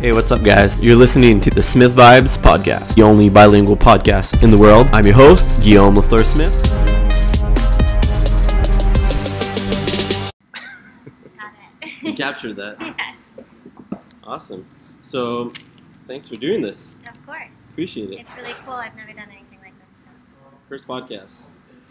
Hey, what's up, guys? You're listening to the Smith Vibes podcast, the only bilingual podcast in the world. I'm your host, Guillaume Lafleur Smith. Got it. You captured that. Yes, Awesome. So, thanks for doing this. of course. Appreciate it. It's really cool. I've never done anything like this. So. First podcast.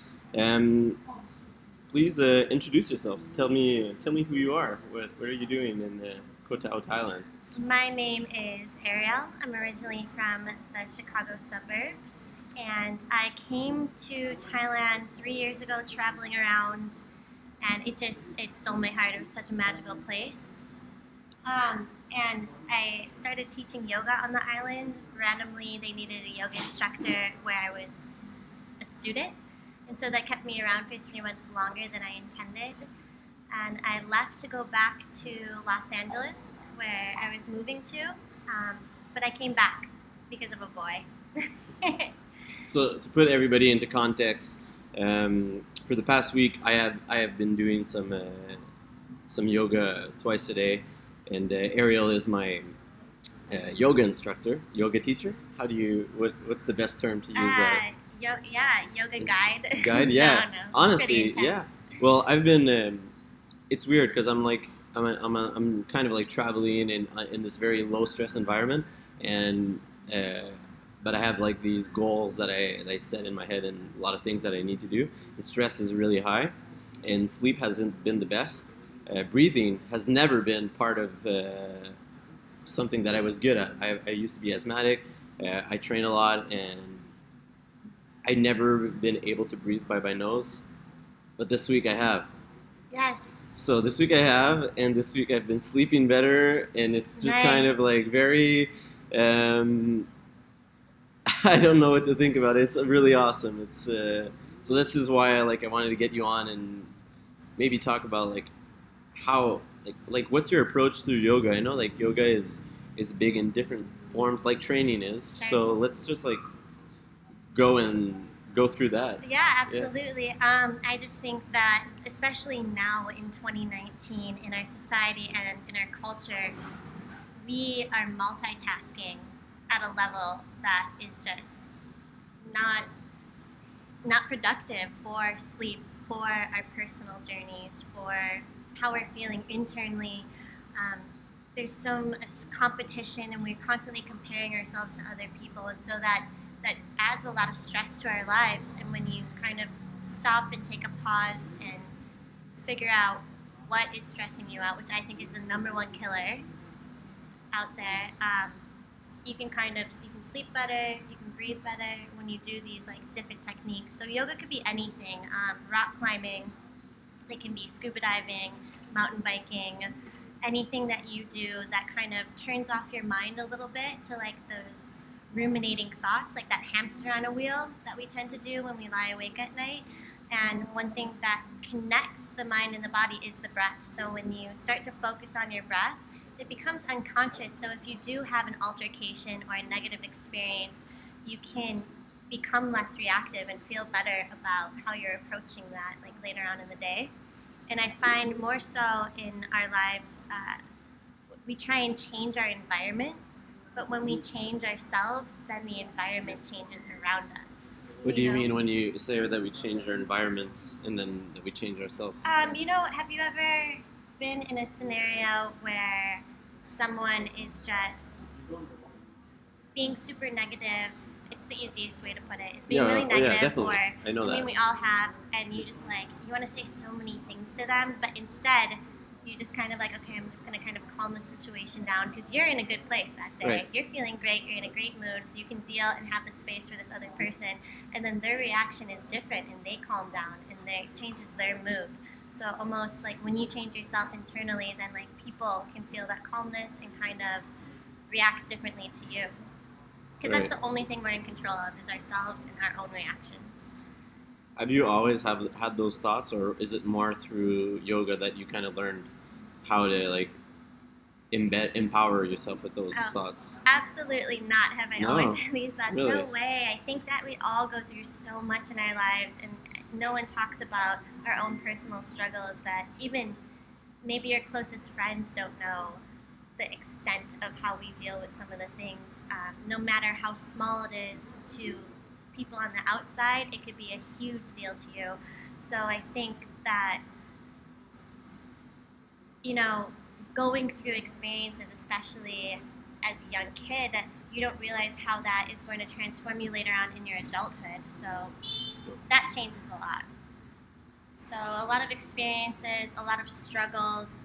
Please introduce yourselves. Tell me who you are. What are you doing in Koh Tao, Thailand? My name is Ariel. I'm originally from the Chicago suburbs, and I came to Thailand 3 years ago traveling around, and it stole my heart. It was such a magical place. And I started teaching yoga on the island. Randomly, they needed a yoga instructor where I was a student, and so that kept me around for 3 months longer than I intended. And I left to go back to Los Angeles, where I was moving to, but I came back because of a boy. So to put everybody into context, for the past week, I have been doing some yoga twice a day, and Ariel is my yoga instructor, yoga teacher. What's the best term to use? Yoga guide. Guide, yeah. No. Honestly, yeah. Well, I've been. It's weird because I'm kind of like traveling in this very low stress environment, and but I have like these goals that I set in my head and a lot of things that I need to do. The stress is really high, and sleep hasn't been the best. Breathing has never been part of something that I was good at. I used to be asthmatic. I train a lot, and I never been able to breathe by my nose. But this week I have. Yes. So this week I have, and this week I've been sleeping better, and it's just Nice. kind of like very, I don't know what to think about it. It's really awesome. It's so this is why I wanted to get you on and maybe talk about how what's your approach through yoga? I know yoga is big in different forms, like training is. Sure. So let's just go through that. Yeah, absolutely. I just think that, especially now in 2019, in our society and in our culture, we are multitasking at a level that is just not productive for sleep, for our personal journeys, for how we're feeling internally. There's so much competition, and we're constantly comparing ourselves to other people, and so that adds a lot of stress to our lives. And when you kind of stop and take a pause and figure out what is stressing you out, which I think is the #1 killer out there, you can sleep better, you can breathe better when you do these different techniques. So yoga could be anything: rock climbing, it can be scuba diving, mountain biking, anything that you do that kind of turns off your mind a little bit to those ruminating thoughts, like that hamster on a wheel that we tend to do when we lie awake at night. And one thing that connects the mind and the body is the breath. So when you start to focus on your breath, it becomes unconscious. So if you do have an altercation or a negative experience, you can become less reactive and feel better about how you're approaching that later on in the day. And I find more so in our lives, we try and change our environment. But when we change ourselves, then the environment changes around us. What do you mean when you say that we change our environments and then that we change ourselves? Have you ever been in a scenario where someone is just being super negative? It's the easiest way to put it. Is being really negative. Yeah, definitely. I know that. I mean, we all have, and you just you want to say so many things to them, but instead, you just kind of okay, I'm just going to kind of calm the situation down because you're in a good place that day. Right. You're feeling great. You're in a great mood, so you can deal and have the space for this other person. And then their reaction is different, and they calm down, and it changes their mood. So almost when you change yourself internally, then people can feel that calmness and kind of react differently to you. Because that's the only thing we're in control of is ourselves and our own reactions. Have you always had those thoughts, or is it more through yoga that you kind of learned how to empower yourself with those thoughts? Absolutely not. Have I always had these thoughts? Really? No way. I think that we all go through so much in our lives, and no one talks about our own personal struggles that even maybe your closest friends don't know. the extent of how we deal with some of the things, no matter how small it is to people on the outside, it could be a huge deal to you. So I think that, you know, going through experiences, especially as a young kid, you don't realize how that is going to transform you later on in your adulthood. So that changes a lot. So a lot of experiences, a lot of struggles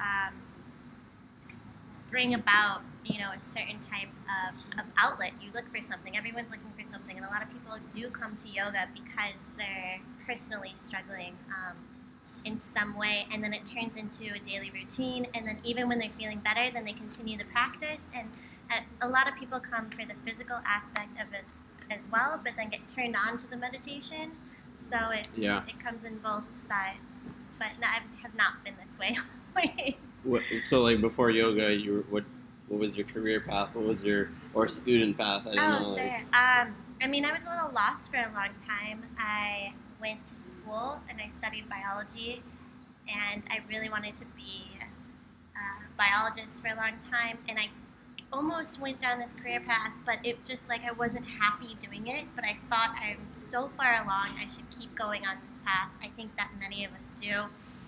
bring about, you know, a certain type of outlet. You look for something. Everyone's looking for something, and a lot of people do come to yoga because they're personally struggling in some way, and then it turns into a daily routine. And then even when they're feeling better, then they continue the practice. And a lot of people come for the physical aspect of it as well, but then get turned on to the meditation. So it comes in both sides. But no, I have not been this way always. So like before yoga, what was your career path? What was your student path? I don't know. Sure. Like... I mean, I was a little lost for a long time. I went to school and I studied biology, and I really wanted to be a biologist for a long time, and I almost went down this career path, but it just like I wasn't happy doing it. But I thought I'm so far along, I should keep going on this path. I think that many of us do.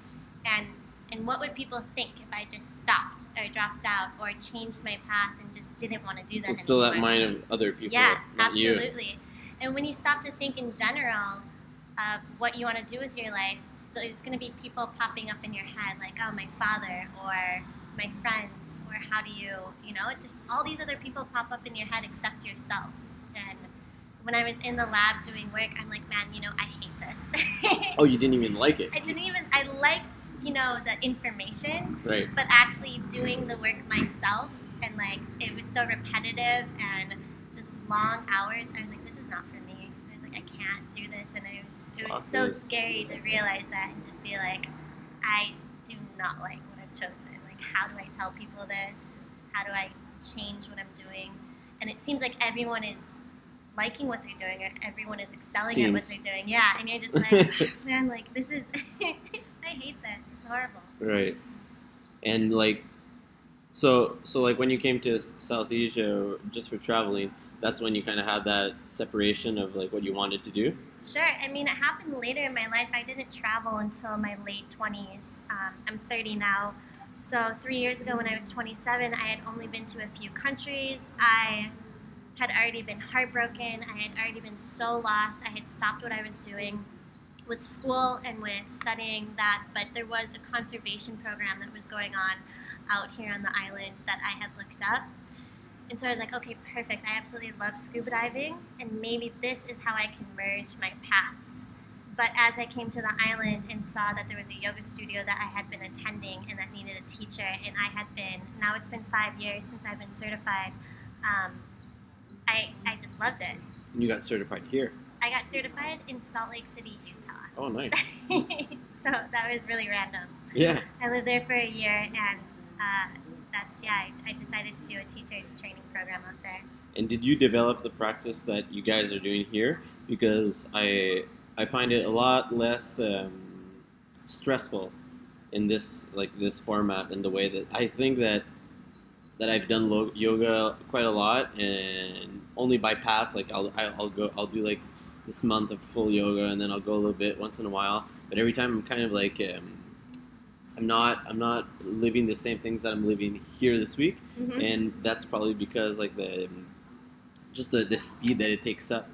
And what would people think if I just stopped or dropped out or changed my path and just didn't want to do that anymore? So still that mind of other people, yeah, not absolutely. You. And when you stop to think in general of what you want to do with your life, there's going to be people popping up in your head like, oh, my father or my friends, or how do you know, it just all these other people pop up in your head except yourself. And when I was in the lab doing work, I'm like, man, you know, I hate this. Oh, you didn't even like it? I liked, you know, the information, right? But actually doing the work myself, and like it was so repetitive and just long hours. I was like, this is not for me. I was like, I can't do this, and it was so scary to realize that and just be like, I do not like what I've chosen. Like, how do I tell people this? How do I change what I'm doing? And it seems like everyone is liking what they're doing, or everyone is excelling at what they're doing. Yeah, and you're just like, man, like this is. I hate this. It's horrible. Right. And like, so like when you came to South Asia just for traveling, that's when you kind of had that separation of like what you wanted to do? Sure. I mean, it happened later in my life. I didn't travel until my late 20s. I'm 30 now. So 3 years ago when I was 27, I had only been to a few countries. I had already been heartbroken. I had already been so lost. I had stopped what I was doing with school and with studying that, but there was a conservation program that was going on out here on the island that I had looked up. And so I was like, okay, perfect. I absolutely love scuba diving, and maybe this is how I can merge my paths. But as I came to the island and saw that there was a yoga studio that I had been attending and that needed a teacher, and I had been, now it's been 5 years since I've been certified, I just loved it. You got certified here? I got certified in Salt Lake City, Utah. Oh, nice. So that was really random. Yeah. I lived there for a year, and I decided to do a teacher training program out there. And did you develop the practice that you guys are doing here? Because I find it a lot less stressful in this format, in the way that I think that I've done yoga quite a lot, and only by past, like I'll do like this month of full yoga, and then I'll go a little bit once in a while. But every time I'm kind of like I'm not living the same things that I'm living here this week, and that's probably because like the speed that it takes up.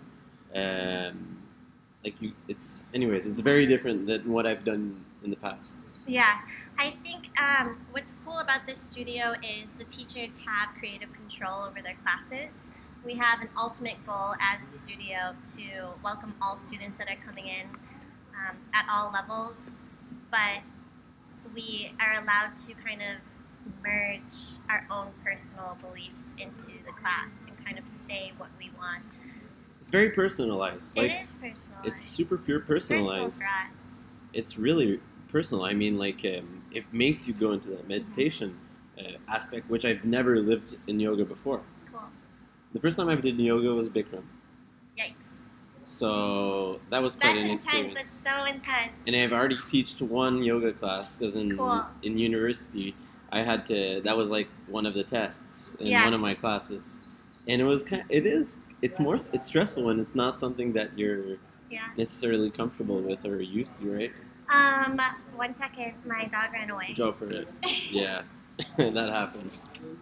It's very different than what I've done in the past. Yeah, I think what's cool about this studio is the teachers have creative control over their classes. We have an ultimate goal as a studio to welcome all students that are coming in at all levels, but we are allowed to kind of merge our own personal beliefs into the class and kind of say what we want. It's very personalized. It is personalized. It's super pure personalized. It's personal for us. It's really personal. I mean, like it makes you go into that meditation aspect, which I've never lived in yoga before. Cool. The first time I did yoga was Bikram. Yikes. So that was quite an experience. That's so intense. And I've already taught one yoga class because in university I had to. That was like one of the tests in Yeah. one of my classes, and it's more. It's stressful when it's not something that you're Yeah. necessarily comfortable with or used to, right? 1 second. My dog ran away. Go for it. Yeah, that happens.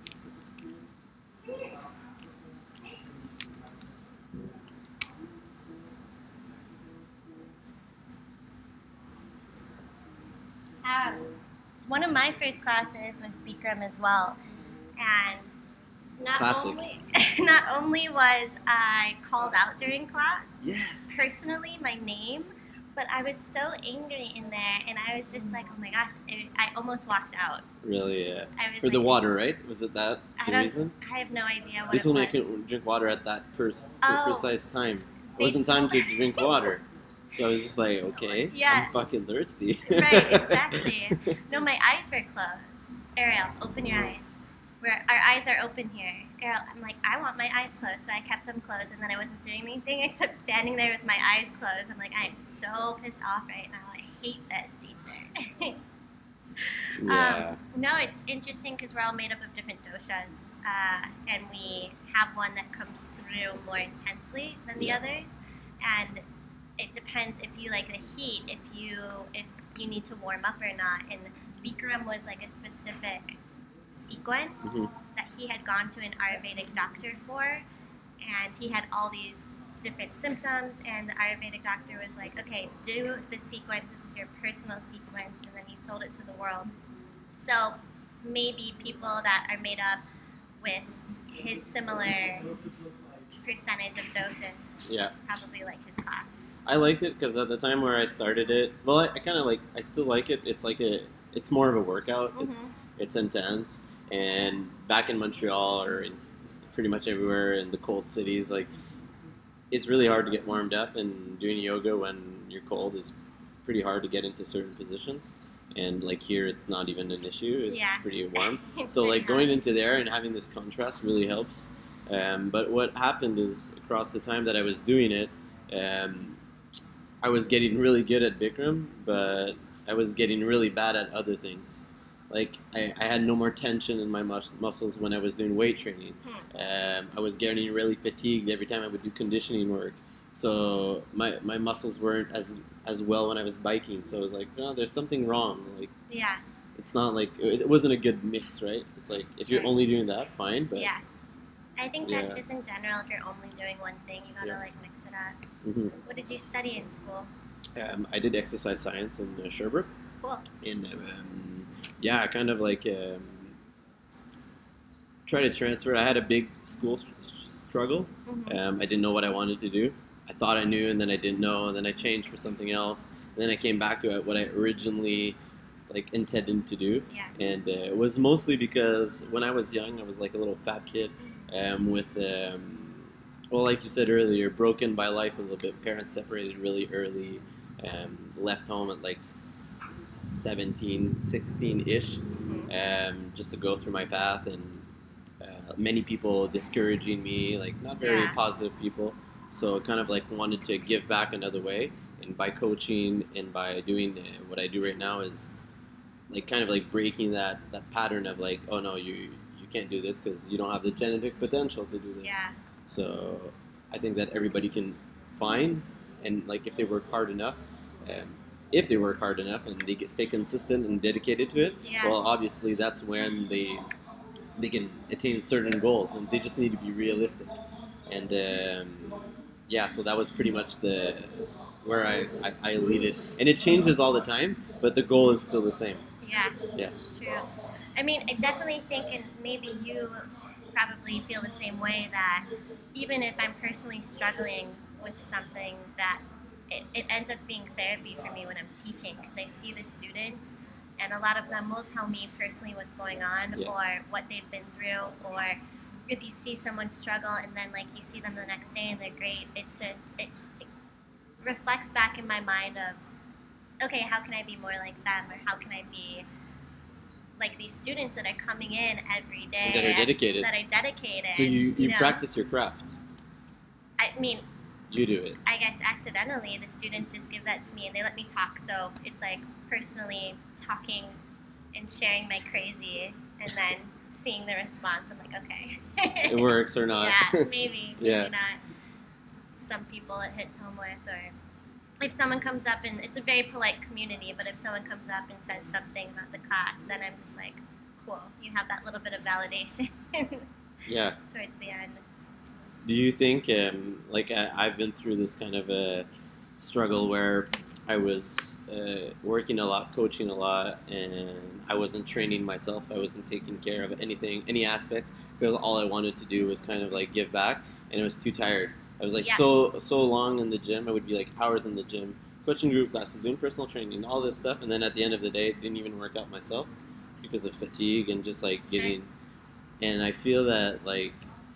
One of my first classes was Bikram as well, and not Classic. only not only was I called out during class, Yes. personally my name, but I was so angry in there, and I was just like, oh my gosh, I almost walked out. Really, yeah. I was For like, the water, right? Was it that I the don't. reason? I have no idea what They it told me I was. couldn't drink water at that Oh. precise time. It They wasn't time told- to drink water. So I was just like, okay, Yeah. I'm fucking thirsty. Right, exactly. No, my eyes were closed. Ariel, open your eyes. Our eyes are open here. Ariel, I'm like, I want my eyes closed, so I kept them closed, and then I wasn't doing anything except standing there with my eyes closed. I'm like, I am so pissed off right now. I hate this teacher. Yeah. No, it's interesting because we're all made up of different doshas, and we have one that comes through more intensely than the Yeah. others, and it depends if you like the heat, if you need to warm up or not. And Bikram was like a specific sequence Mhm. that he had gone to an Ayurvedic doctor for, and he had all these different symptoms, and the Ayurvedic doctor was like, okay, do the sequence, this is your personal sequence, and then he sold it to the world. So maybe people that are made up with his similar percentage of doshas Yeah. probably like his class. I liked it because at the time where I started it, well, I kind of I still like it. It's more of a workout. Mhm. It's intense. And back in Montreal or in pretty much everywhere in the cold cities, like, it's really hard to get warmed up, and doing yoga when you're cold is pretty hard to get into certain positions. And like here, it's not even an issue. It's Yeah. pretty warm. It's So pretty like going hot. into there and having this contrast really helps. But what happened is across the time that I was doing it, I was getting really good at Bikram, but I was getting really bad at other things. Like I had no more tension in my muscles when I was doing weight training. I was getting really fatigued every time I would do conditioning work. So my muscles weren't as well when I was biking. So I was like, no, there's something wrong. Like Yeah, it's not like it wasn't a good mix, right? It's like if you're Sure. only doing that, fine. But yeah. I think that's Yeah. just in general. If you're only doing one thing, you gotta Yeah. like mix it up. mhm. What did you study in school? I did exercise science in Sherbrooke, Cool. and yeah, I kind of try to transfer. I had a big school struggle. Mhm. I didn't know what I wanted to do. I thought I knew, and then I didn't know, and then I changed for something else. And then I came back to what I originally intended to do, Yeah. and it was mostly because when I was young, I was like a little fat kid with, well, like you said earlier, broken by life a little bit. Parents separated really early, left home at like 17, 16-ish, just to go through my path, and many people discouraging me, like not very Yeah. positive people. So kind of wanted to give back another way, and by coaching and by doing what I do right now is kind of breaking that pattern of oh no, you can't do this because you don't have the genetic potential to do this. Yeah. So I think that everybody can find, and if they work hard enough, if they work hard enough and they stay consistent and dedicated to it, Yeah. well, obviously that's when they can attain certain goals, and they just need to be realistic. And yeah, so that was pretty much where I lead it, and it changes all the time, but the goal is still the same. Yeah. Yeah. True. I mean, I definitely think, and maybe you probably feel the same way, that even if I'm personally struggling with something, that it ends up being therapy for me when I'm teaching, because I see the students, and a lot of them will tell me personally what's going on, Yeah. or what they've been through, or if you see someone struggle and then you see them the next day and they're great, it's just it reflects back in my mind of, okay, how can I be more like them, or how can I be like these students that are coming in every day, That are dedicated. that are dedicated. So you know. practice your craft. I mean, You do it. I guess accidentally the students just give that to me and they let me talk. So it's personally talking and sharing my crazy, and then seeing the response. I'm like, okay, It works or not. yeah, maybe Yeah. not. Some people it hits home with, or if someone comes up and it's a very polite community, but if someone comes up and says something about the class, then I'm just like, cool, you have that little bit of validation Yeah. towards the end. Do you think, like I've been through this kind of a struggle where I was working a lot, coaching a lot, and I wasn't training myself. I wasn't taking care of anything, any aspects, because all I wanted to do was kind of like give back, and I was too tired. I was like Yeah. so long in the gym. I would be like hours in the gym, coaching group classes, doing personal training, all this stuff, and then at the end of the day, I didn't even work out myself because of fatigue and just like Sure. getting. And I feel that like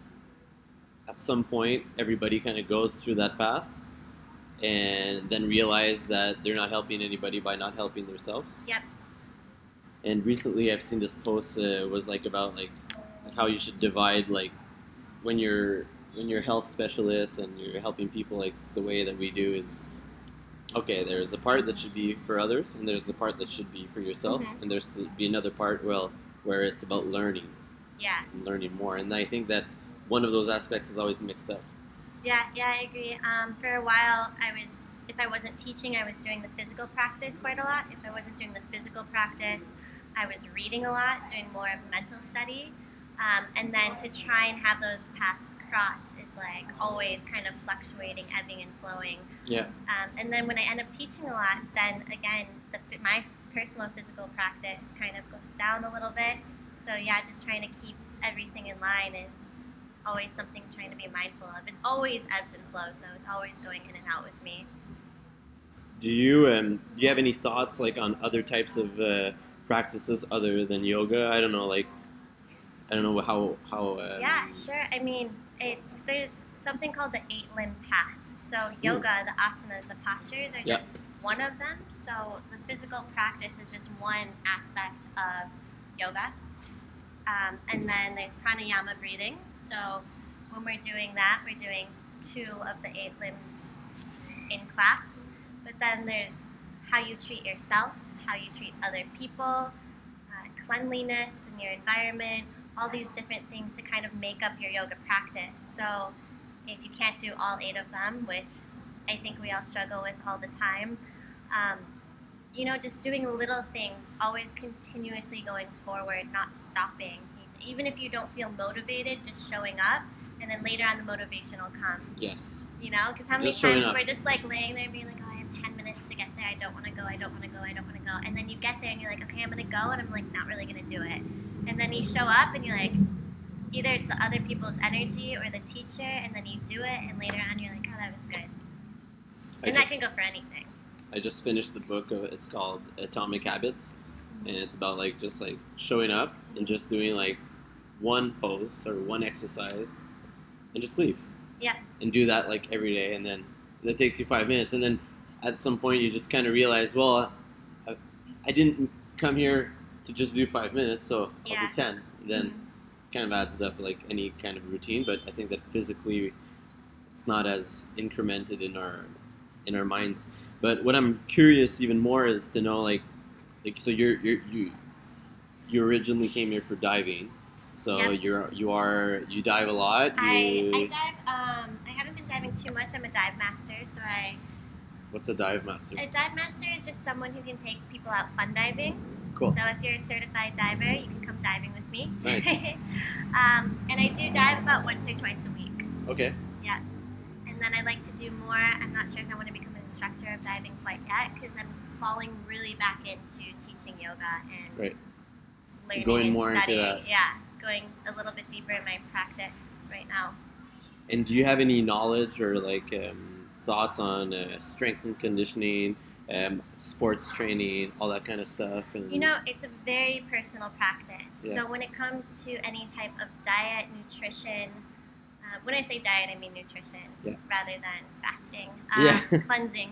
at some point everybody kind of goes through that path and then realize that they're not helping anybody by not helping themselves. Yep. And recently I've seen this post was like about like how you should divide like when you're health specialists and you're helping people, like the way that we do is okay, there's a part that should be for others and there's the part that should be for yourself, Mhm. and there's to be another part where it's about learning Yeah. and learning more. And I think that one of those aspects is always mixed up. Yeah, I agree. For a while, if I wasn't teaching, I was doing the physical practice quite a lot. If I wasn't doing the physical practice, I was reading a lot, doing more of mental study. And then to try and have those paths cross is like always kind of fluctuating, ebbing and flowing. Yeah. And then when I end up teaching a lot, then again, my personal physical practice kind of goes down a little bit. So yeah, just trying to keep everything in line is always something I'm trying to be mindful of. It always ebbs and flows, though. It's always going in and out with me. Do you have any thoughts like on other types of practices other than yoga? I don't know, like I don't know how. Yeah, sure. I mean, there's something called the 8-limb path. So yoga, the asanas, the postures are Yeah. just one of them. So the physical practice is just one aspect of yoga. And then there's pranayama breathing. So when we're doing that, we're doing 2 of the 8 limbs in class. But then there's how you treat yourself, how you treat other people, cleanliness in your environment, all these different things to kind of make up your yoga practice. So if you can't do all 8 of them, which I think we all struggle with all the time, just doing little things, always continuously going forward, not stopping. Even if you don't feel motivated, just showing up, and then later on the motivation will come. Yes. Because how many Just showing times up. we're just like laying there being like, oh, I have 10 minutes to get there, I don't want to go, I don't want to go, I don't want to go. And then you get there and you're like, okay, I'm going to go, and I'm like, not really going to do it. And then you show up and you're like, either it's the other people's energy or the teacher, and then you do it, and later on you're like, oh, that was good. And that can go for anything. I just finished the book. It's called Atomic Habits, and it's about like just like showing up and just doing like one pose or one exercise, and just leave. Yeah. And do that like every day, and then that takes you 5 minutes, and then at some point you just kind of realize, well, I didn't come here to just do 5 minutes, so I'll Yeah. do 10. And then kind of adds up like any kind of routine, but I think that physically it's not as incremented in our minds. But what I'm curious even more is to know like so you originally came here for diving, so Yep. you dive a lot. I dive. I haven't been diving too much. I'm a dive master, so What's a dive master? a dive master is just someone who can take people out fun diving. Cool. So if you're a certified diver, you can come diving with me. Nice. And I do dive about once or twice a week. Okay. Yeah. And then I like to do more. I'm not sure if I want to become an instructor of diving quite yet, because I'm falling really back into teaching yoga and Right. learning Going and more into studying. that. Yeah, going a little bit deeper in my practice right now. And do you have any knowledge or like thoughts on strength and conditioning, sports training, all that kind of stuff? And It's a very personal practice. Yeah. So when it comes to any type of diet, nutrition, when I say diet, I mean nutrition Yeah. rather than fasting, Yeah. cleansing.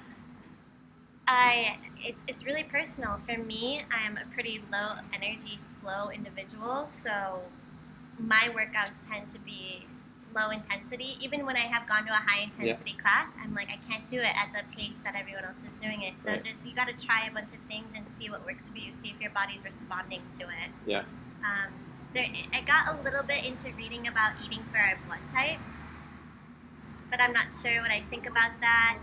It's really personal. For me, I'm a pretty low energy, slow individual, so my workouts tend to be low intensity. Even when I have gone to a high intensity class, I'm like, I can't do it at the pace that everyone else is doing it. So Right. just, you got to try a bunch of things and see what works for you. See if your body's responding to it. Yeah. I got a little bit into reading about eating for our blood type, but I'm not sure what I think about that.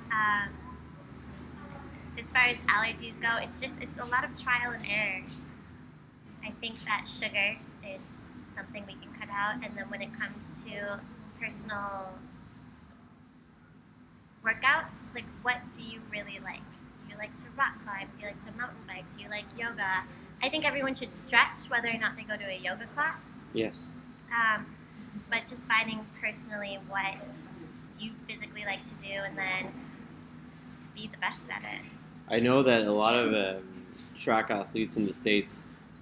As far as allergies go, it's a lot of trial and error. I think that sugar is something we can cut out, and then when it comes to personal workouts, like what do you really like? Do you like to rock climb? Do you like to mountain bike? Do you like yoga? I think everyone should stretch whether or not they go to a yoga class. Yes. But just finding personally what you physically like to do and then be the best at it. I know that a lot of track athletes in the States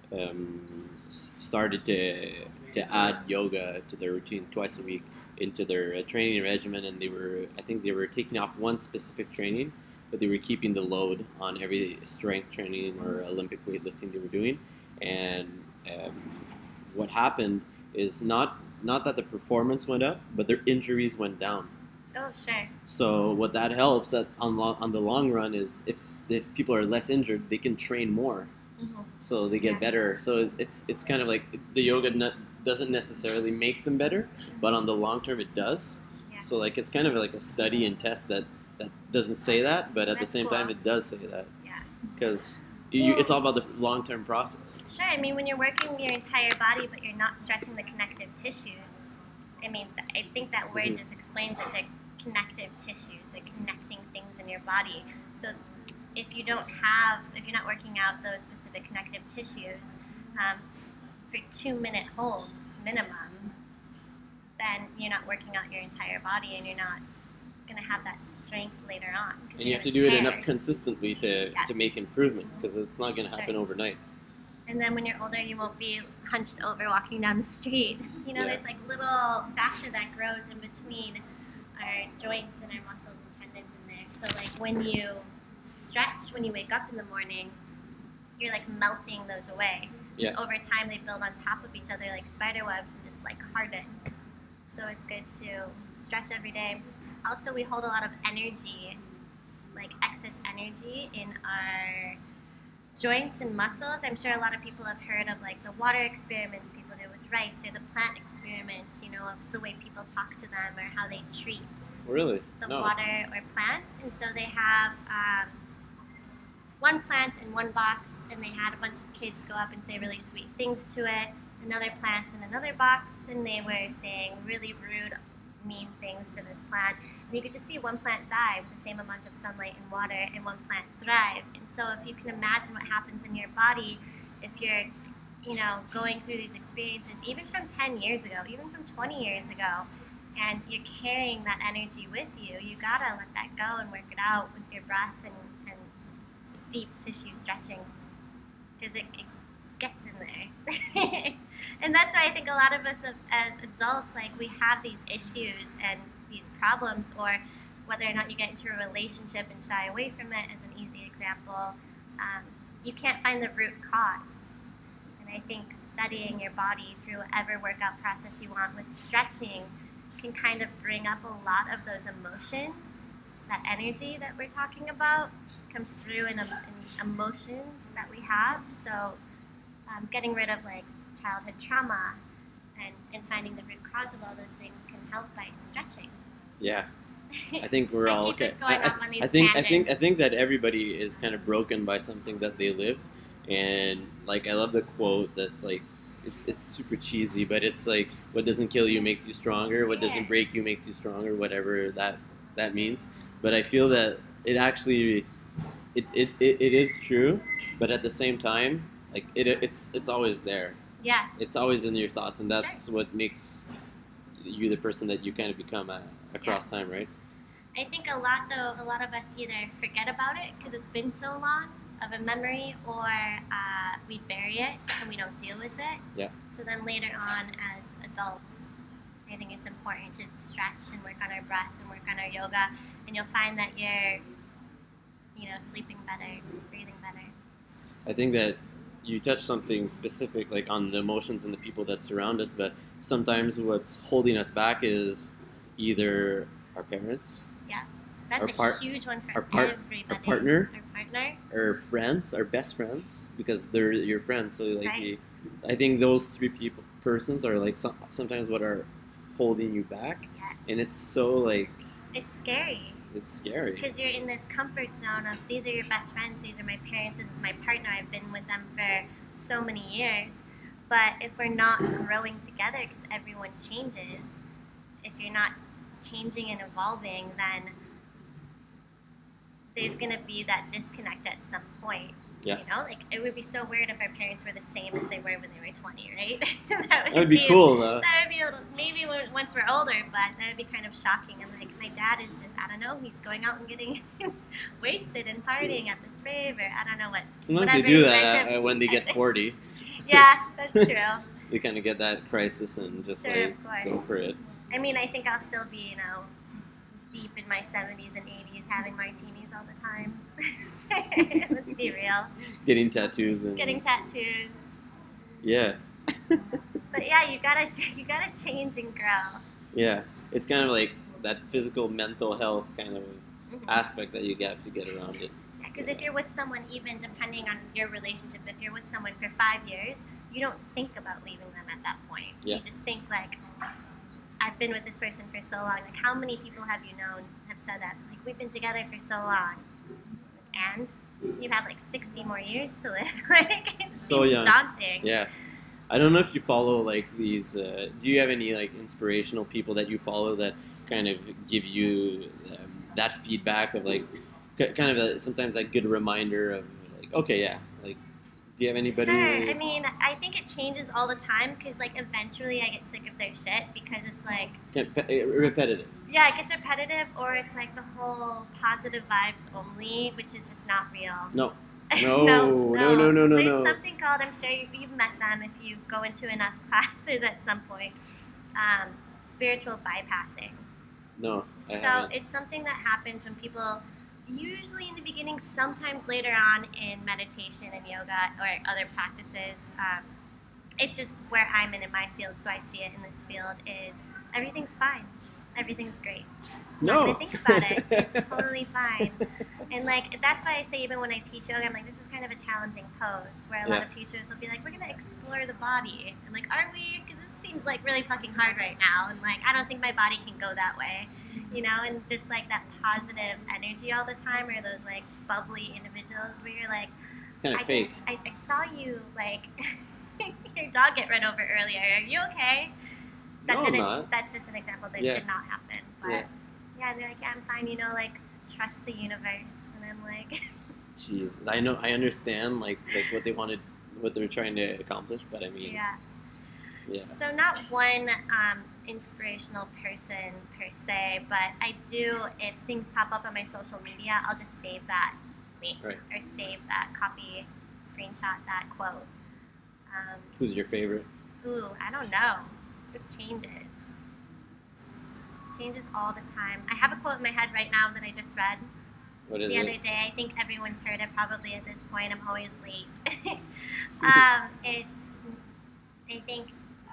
started to add yoga to their routine twice a week into their training regimen, and I think they were taking off one specific training, but they were keeping the load on every strength training or Olympic weightlifting they were doing. And what happened is not that the performance went up, but their injuries went down. Oh, sure. So what that helps on the long run is if people are less injured, they can train more. Mm-hmm. So they get better. So it's kind of like the yoga doesn't necessarily make them better, but on the long term it does. Yeah. So like it's kind of like a study and test that doesn't say that, but at the That's same cool. time it does say that. Yeah. Because it's all about the long term process. Sure. I mean, when you're working your entire body, but you're not stretching the connective tissues. I mean, I think that word just explains it. They're connective tissues. They're connecting things in your body. So if you're not working out those specific connective tissues for 2-minute holds minimum, then you're not working out your entire body, and you're not going to have that strength later on. And you have to do it enough consistently to make improvement, because it's not going to happen overnight. And then when you're older, you won't be hunched over walking down the street. There's like little fascia that grows in between our joints and our muscles and tendons in there. So like when you stretch, when you wake up in the morning, you're like melting those away. Yeah. Over time, they build on top of each other like spider webs and just like harden. So it's good to stretch every day. Also, we hold a lot of energy, like excess energy in our joints and muscles. I'm sure a lot of people have heard of like the water experiments people do with rice, or the plant experiments, of the way people talk to them or how they treat Really? the No. water or plants. And so they have one plant in one box, and they had a bunch of kids go up and say really sweet things to it. Another plant in another box, and they were saying really rude, mean things to this plant. And you could just see one plant die with the same amount of sunlight and water, and one plant thrive. And so if you can imagine what happens in your body if you're, going through these experiences, even from 10 years ago, even from 20 years ago, and you're carrying that energy with you, you gotta let that go and work it out with your breath and deep tissue stretching, because it gets in there. And that's why I think a lot of us as adults, like, we have these issues and these problems, or whether or not you get into a relationship and shy away from it as an easy example, you can't find the root cause. And I think studying your body through whatever workout process you want with stretching can kind of bring up a lot of those emotions. That energy that we're talking about comes through in emotions that we have. So getting rid of like childhood trauma and finding the root cause of all those things can help by stretching. Yeah. I think we're all okay. I think that everybody is kind of broken by something that they lived, and like I love the quote that like it's super cheesy, but it's like what doesn't kill you makes you stronger, what doesn't break you makes you stronger, whatever that means. But I feel that it actually it is true, but at the same time, like it's always there. Yeah. It's always in your thoughts, and that's what makes you the person that you kind of become across time, right? I think a lot of us either forget about it because it's been so long of a memory, or we bury it and we don't deal with it. Yeah. So then later on as adults, I think it's important to stretch and work on our breath and work on our yoga, and you'll find that you're, sleeping better, breathing better. I think that you touched something specific, like on the emotions and the people that surround us, but sometimes what's holding us back is either our parents, Yeah, that's our a huge one for our part- everybody. our partner, Our partner. our friends, our best friends, because they're your friends. So like, Right. I think those three persons are like sometimes what are holding you back, Yes. and it's so like It's scary. it's scary. Because you're in this comfort zone of these are your best friends, these are my parents, this is my partner, I've been with them for so many years. But if we're not growing together, because everyone changes, if you're not changing and evolving, then there's going to be that disconnect at some point. Yeah. You know, like it would be so weird if our parents were the same as they were when they were 20, right? That would be cool though. That would be a little, maybe once we're older, but that would be kind of shocking. And like my dad is just, I don't know, he's going out and getting wasted and partying at this rave, or I don't know what. Sometimes they whatever do you guys that have- when they get 40. Yeah, that's true. They kind of get that crisis and just Sure, like of go course. for it. I mean, I think I'll still be, you know, deep in my 70s and 80s having martinis all the time. Let's be real. Getting tattoos and Getting tattoos. yeah, But yeah, you gotta change and grow. yeah. It's kind of like that physical, mental health kind of Mhm. aspect that you have to get around it. Because if you're with someone, even depending on your relationship, if you're with someone for 5 years, you don't think about leaving them at that point. Yeah. You just think like, I've been with this person for so long. Like, how many people have you known have said that? Like, we've been together for so long, and you have like 60 more years to live. Like, it So seems young. daunting. Yeah. I don't know if you follow like these. Do you have any like inspirational people that you follow that kind of give you that feedback of like kind of sometimes that good reminder of like, okay, yeah, like, do you have anybody? Sure. I mean, I think it changes all the time because, like, eventually I get sick of their shit because it's like, Repetitive. yeah, it gets repetitive, or it's like the whole positive vibes only, which is just not real. No. No. There's no. something called, I'm sure you've met them if you go into enough classes at some point, spiritual bypassing. No. I So haven't. it's something that happens when people, usually in the beginning, sometimes later on in meditation and yoga or other practices, it's just where I'm in my field, so I see it in this field, is everything's fine. Everything's great. No. Not gonna think about it. It's totally fine. And like that's why I say even when I teach yoga, I'm like, this is kind of a challenging pose where a lot Yeah. of teachers will be like, we're gonna explore the body. I'm like, are we? Because this seems like really fucking hard right now, and like I don't think my body can go that way, you know. And just like that positive energy all the time, or those like bubbly individuals where you're like, It's kind of fake. I saw you like your dog get run over earlier. Are you okay? That No, I'm didn't. not. That's just an example that Yeah. did not happen. But Yeah. yeah, they're like, yeah, I'm fine. You know, like trust the universe, and I'm like, Jeez, I know, I understand like what they wanted, what they're trying to accomplish, but I mean, yeah. yeah. So not one inspirational person per se, but I do. If things pop up on my social media, I'll just save that link Right. or save that copy, screenshot that quote. Who's your favorite? Ooh, I don't know. It changes. It changes all the time. I have a quote in my head right now that I just read What is the it? other day. I think everyone's heard it probably at this point. I'm always late. It's, I think,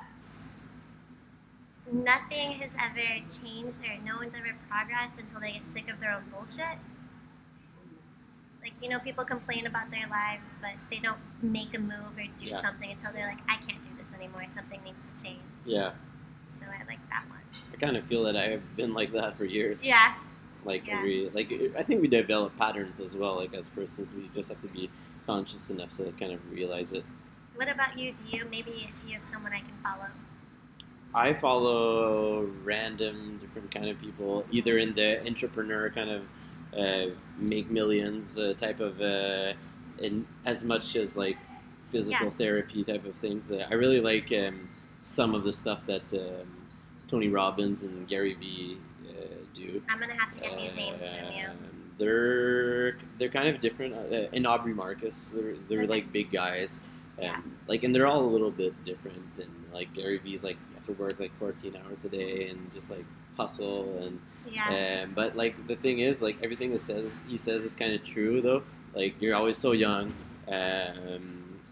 nothing has ever changed or no one's ever progressed until they get sick of their own bullshit. Like, you know, people complain about their lives, but they don't make a move or do Yeah. something until they're like, I can't do this anymore. Something needs to change. Yeah, So I like that one. I kind of feel that I've been like that for years. Yeah. Like Yeah. I think we develop patterns as well. Like as persons, we just have to be conscious enough to kind of realize it. What about you? Do you maybe you have someone I can follow? I follow random different kind of people, either in the entrepreneur kind of make millions type of, in as much as like physical Yeah. therapy type of things. I really like some of the stuff that Tony Robbins and Gary Vee do. I'm gonna have to get these names from you. They're kind of different. And Aubrey Marcus, they're Okay. like big guys. Yeah. Like, and they're all a little bit different. And like Gary Vee's like you have to work like 14 hours a day and just like hustle and Yeah. but like the thing is like everything he says is kind of true though. Like you're always so young.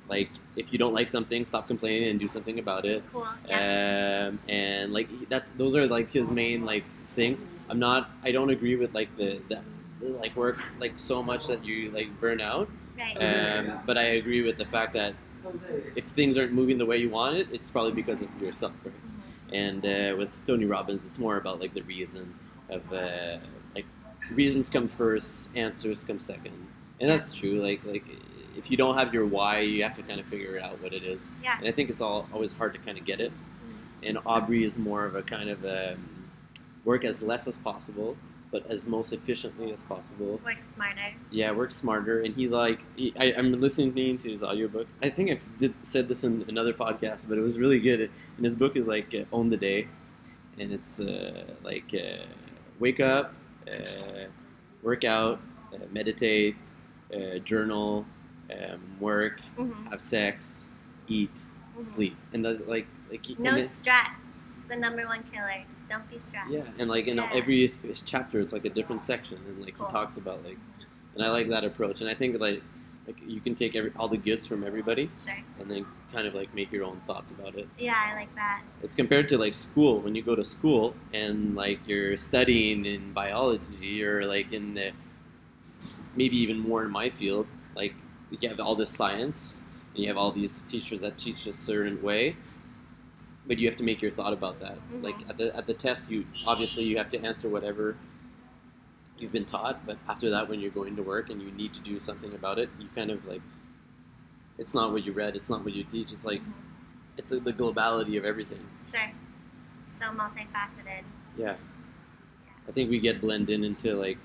like if you don't like something, stop complaining and do something about it. Cool. Yeah. And like those are like his main like things. I don't agree with like the like work like so much that you like burn out. Right. But I agree with the fact that if things aren't moving the way you want it, it's probably because of yourself, right? And with Tony Robbins, it's more about like the reason of like reasons come first, answers come second, and that's true. Like if you don't have your why, you have to kind of figure out what it is. Yeah. And I think it's always hard to kind of get it. And Aubrey is more of a kind of work as less as possible, but as most efficiently as possible. Work smarter. Yeah, work smarter. And he's like, I'm listening to his audiobook. I think I've said this in another podcast, but it was really good. And his book is like Own the Day. And it's like wake up, work out, meditate, journal, work, have sex, eat, sleep. And that's like no stress. The number one killer. Just don't be stressed. Yeah, and like in every chapter, it's like a different section, and like Cool. he talks about like, and I like that approach, and I think like you can take all the goods from everybody, Sure. and then kind of like make your own thoughts about it. Yeah, I like that. It's compared to like school. When you go to school and like you're studying in biology or like in the maybe even more in my field, like you have all this science and you have all these teachers that teach a certain way. But you have to make your thought about that. Like at the test, you have to answer whatever you've been taught. But after that, when you're going to work and you need to do something about it, you kind of like it's not what you read, it's not what you teach. It's like it's the globality of everything. Sure. So multifaceted. Yeah, I think we get blended into like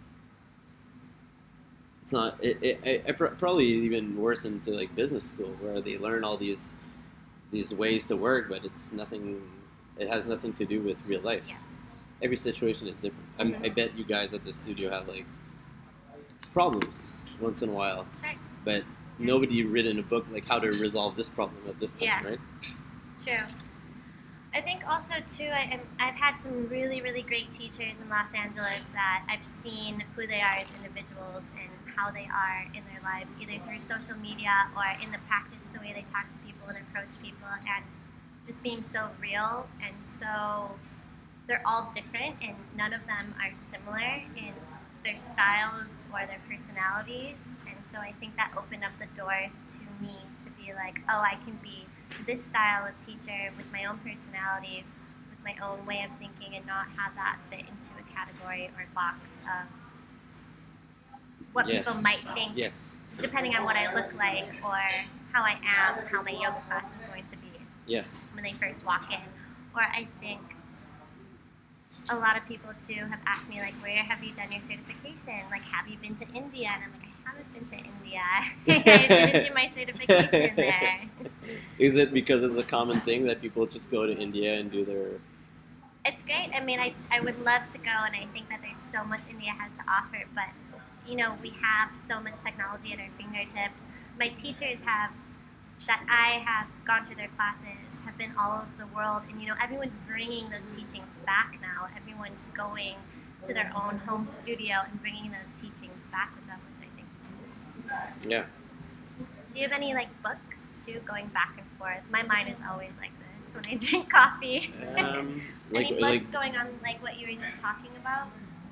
it's not. Probably even worse into like business school where they learn all these ways to work, but it's nothing. It has nothing to do with real life. Yeah. Every situation is different. I bet you guys at the studio have like problems once in a while, Sure. but nobody written a book like how to resolve this problem at this time, Yeah. right? True. I think also too, I've had some really, really great teachers in Los Angeles that I've seen who they are as individuals and how they are in their lives, either through social media or in the practice, the way they talk to people and approach people, and just being so real. And so they're all different, and none of them are similar in their styles or their personalities. And so I think that opened up the door to me to be like, oh, I can be this style of teacher with my own personality, with my own way of thinking, and not have that fit into a category or box of what people might think, depending on what I look like or how I am, how my yoga class is going to be when they first walk in. Or I think a lot of people too have asked me, like, where have you done your certification? Like, have you been to India? And I'm like, I haven't been to India. I didn't do my certification there. Is it because it's a common thing that people just go to India and do their... It's great. I mean, I would love to go, and I think that there's so much India has to offer, but you know, we have so much technology at our fingertips. My teachers that I have gone to their classes have been all over the world, and you know, everyone's bringing those teachings back now. Everyone's going to their own home studio and bringing those teachings back with them, which I think is cool. Yeah. Do you have any like books too, going back and forth? My mind is always like this when I drink coffee. Any books going on like what you were just talking about?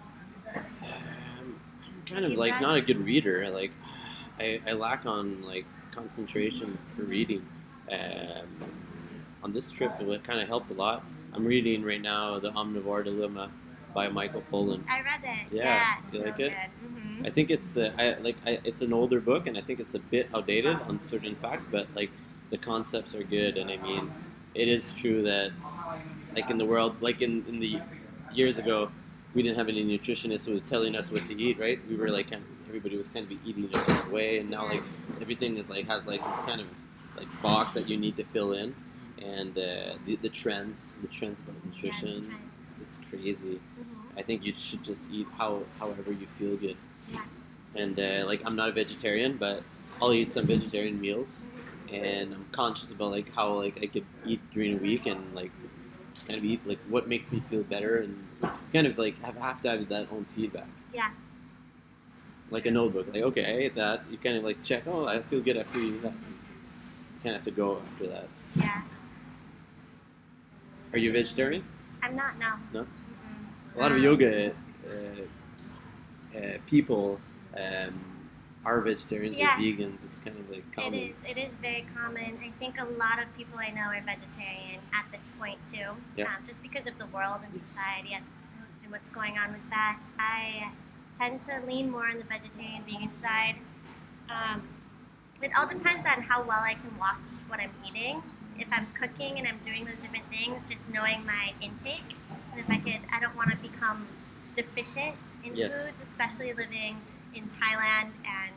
I'm kind of like not a good reader. Like I lack on like concentration for reading. On this trip, it kind of helped a lot. I'm reading right now The Omnivore Dilemma by Michael Pollan. I read it. Yeah, you so like it? Good. Mm-hmm. I think it's it's an older book, and I think it's a bit outdated on certain facts, but like the concepts are good. And I mean, it is true that like in the world, like in the years ago, we didn't have any nutritionists who was telling us what to eat, right? We were like everybody was kind of eating a certain way, and now like everything is like has like this kind of like box that you need to fill in, and the trends about nutrition, it's crazy. I think you should just eat however you feel good. Yeah. And like I'm not a vegetarian, but I'll eat some vegetarian meals, and I'm conscious about like how like I could eat during a week and like kind of eat like what makes me feel better, and kind of like have to have that own feedback. Yeah. Like a notebook, like okay, I ate that. You kind of like check. Oh, I feel good after eating that. kind of have to go after that. Yeah. Are you a vegetarian? I'm not, no. No? Mm-mm. A lot of yoga people are vegetarians Yeah. or vegans. It's kind of like common. It is very common. I think a lot of people I know are vegetarian at this point too. Yeah. Just because of the world and society and what's going on with that. I tend to lean more on the vegetarian vegan side. It all depends on how well I can watch what I'm eating. If I'm cooking and I'm doing those different things, just knowing my intake. And if I don't want to become deficient in Yes. foods, especially living in Thailand and,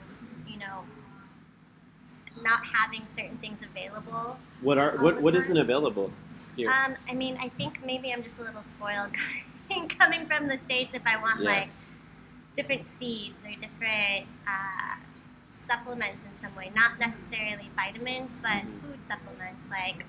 not having certain things available. What the isn't times. available here? I think maybe I'm just a little spoiled coming from the States if I want like Yes. different seeds or different supplements in some way. Not necessarily vitamins, but food supplements like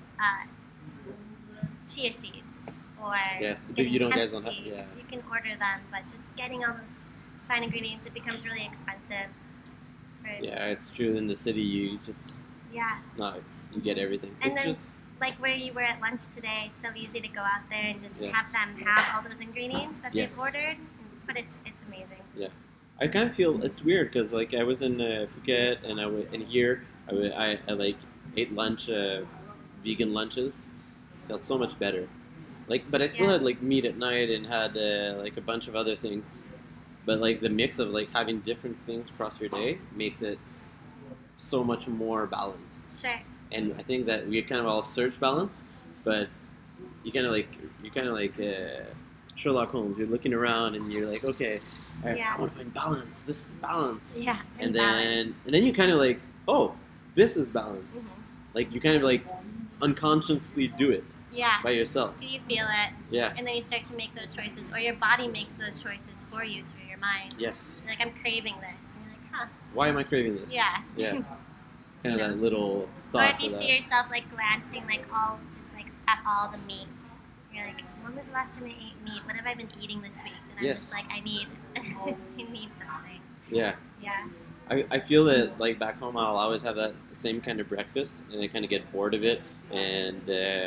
chia seeds or Yes. getting You don't hemp guys don't have. seeds. Yeah. You can order them, but just getting all those fine ingredients, it becomes really expensive. Yeah, it's true. In the city, you just Yeah. you get everything. And It's then- just Like where you were at lunch today, it's so easy to go out there and just Yes. have them have all those ingredients that Yes. they've ordered. But it's amazing. I kind of feel it's weird because like I was in Phuket and and here I like ate lunch, vegan lunches. Felt so much better. Like, but I still Yeah. had like meat at night and had like a bunch of other things. But like the mix of like having different things across your day makes it so much more balanced. Sure. And I think that we kind of all search balance, but you're kind of like Sherlock Holmes. You're looking around and you're like, okay, Yeah. I want to find balance. This is balance. Yeah. And balance. then you kind of like, oh, this is balance. Mhm. Like you kind of like unconsciously do it Yeah. by yourself. You feel it, Yeah. and then you start to make those choices, or your body makes those choices for you through your mind. Yes. You're like, I'm craving this. And you're like, huh. Why am I craving this? Yeah. Yeah. Kind of that little Or thought if you for see that. yourself like glancing like at all the meat, you're like, when was the last time I ate meat? What have I been eating this week? And I'm Yes. just like, I need I need something. Yeah. Yeah. I feel that like back home I'll always have that same kind of breakfast and I kind of get bored of it, and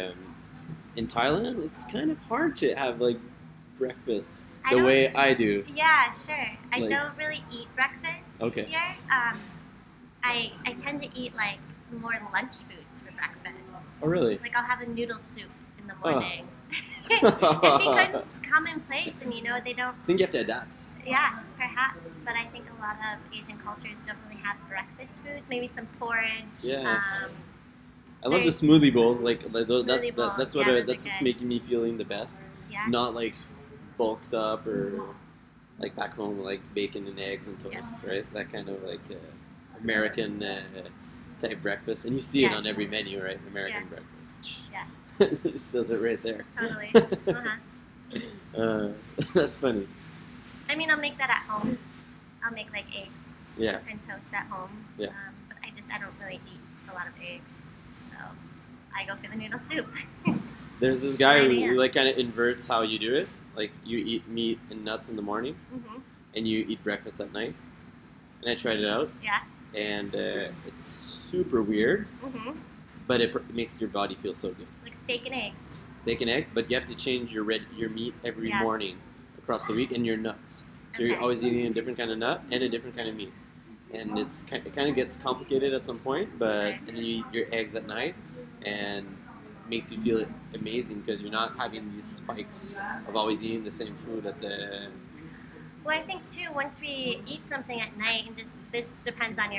in Thailand it's kind of hard to have like breakfast I the don't- way I do. Yeah, sure. I Like- don't really eat breakfast Okay. here. I tend to eat like more lunch foods for breakfast. Oh really? Like I'll have a noodle soup in the Oh. morning. And because it's commonplace and they don't, I think you have to adapt. yeah, perhaps. But I think a lot of Asian cultures don't really have breakfast foods. Maybe some porridge. Yeah. I love the There's- smoothie bowls. Like that's Smoothie bowls, that's yeah, what those are that's what's good. making me feeling the best. Yeah. Not like bulked up or like back home like bacon and eggs and toast, Yeah. right? That kind of like American type breakfast, and you see it Yeah. on every menu, right? American Yeah. breakfast. Yeah. It says it right there. Totally. Uh-huh. That's funny. I mean, I'll make that at home. I'll make like eggs Yeah. and toast at home. Yeah. But I don't really eat a lot of eggs, so I go for the noodle soup. There's this guy who Yeah. like kind of inverts how you do it. Like you eat meat and nuts in the morning, hmm and you eat breakfast at night. And I tried it out, Yeah. and it's super weird, hmm but it makes your body feel so good. Like steak and eggs. Steak and eggs, but you have to change your meat every Yeah. morning across the week, and your nuts. So you're Okay. always eating a different kind of nut and a different kind of meat, and it kind of gets complicated at some point. But Sure. and then you eat your eggs at night, and it makes you feel amazing because you're not having these spikes of always eating the same food at the. Well, I think too, once we eat something at night, and this depends on your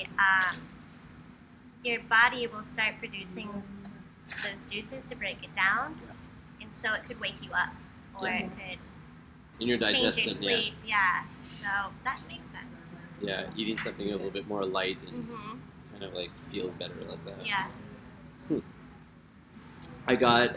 body will start producing those juices to break it down, and so it could wake you up, or Yeah. it could In your change your digestion, sleep. Yeah. So that makes sense. yeah, eating something a little bit more light and hmm kind of like feel better like that. Yeah. I got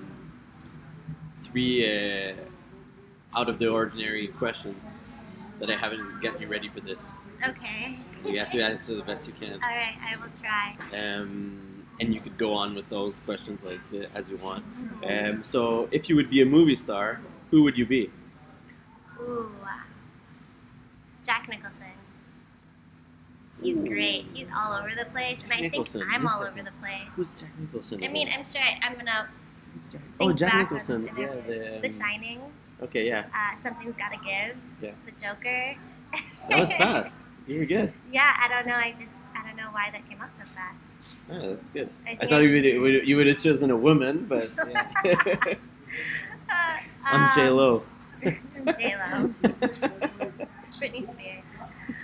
3 out of the ordinary questions that I haven't gotten you ready for this. Okay. You have to answer the best you can. All right, I will try. And you could go on with those questions like as you want. So, if you would be a movie star, who would you be? Ooh. Jack Nicholson. He's great. He's all over the place, and I think Nicholson. I'm You all said over the place. Who's Jack Nicholson? I mean, I'm sure I'm gonna Oh, think Jack back on Nicholson. this Yeah, interview. The Shining. Okay, yeah. Something's Gotta Give. Yeah. The Joker. That was fast. You were good. Yeah, I don't know. I don't know why that came out so fast. Oh, that's good. I I thought you would have chosen a woman, but yeah. I'm J Lo. I'm J Lo. Britney Spears.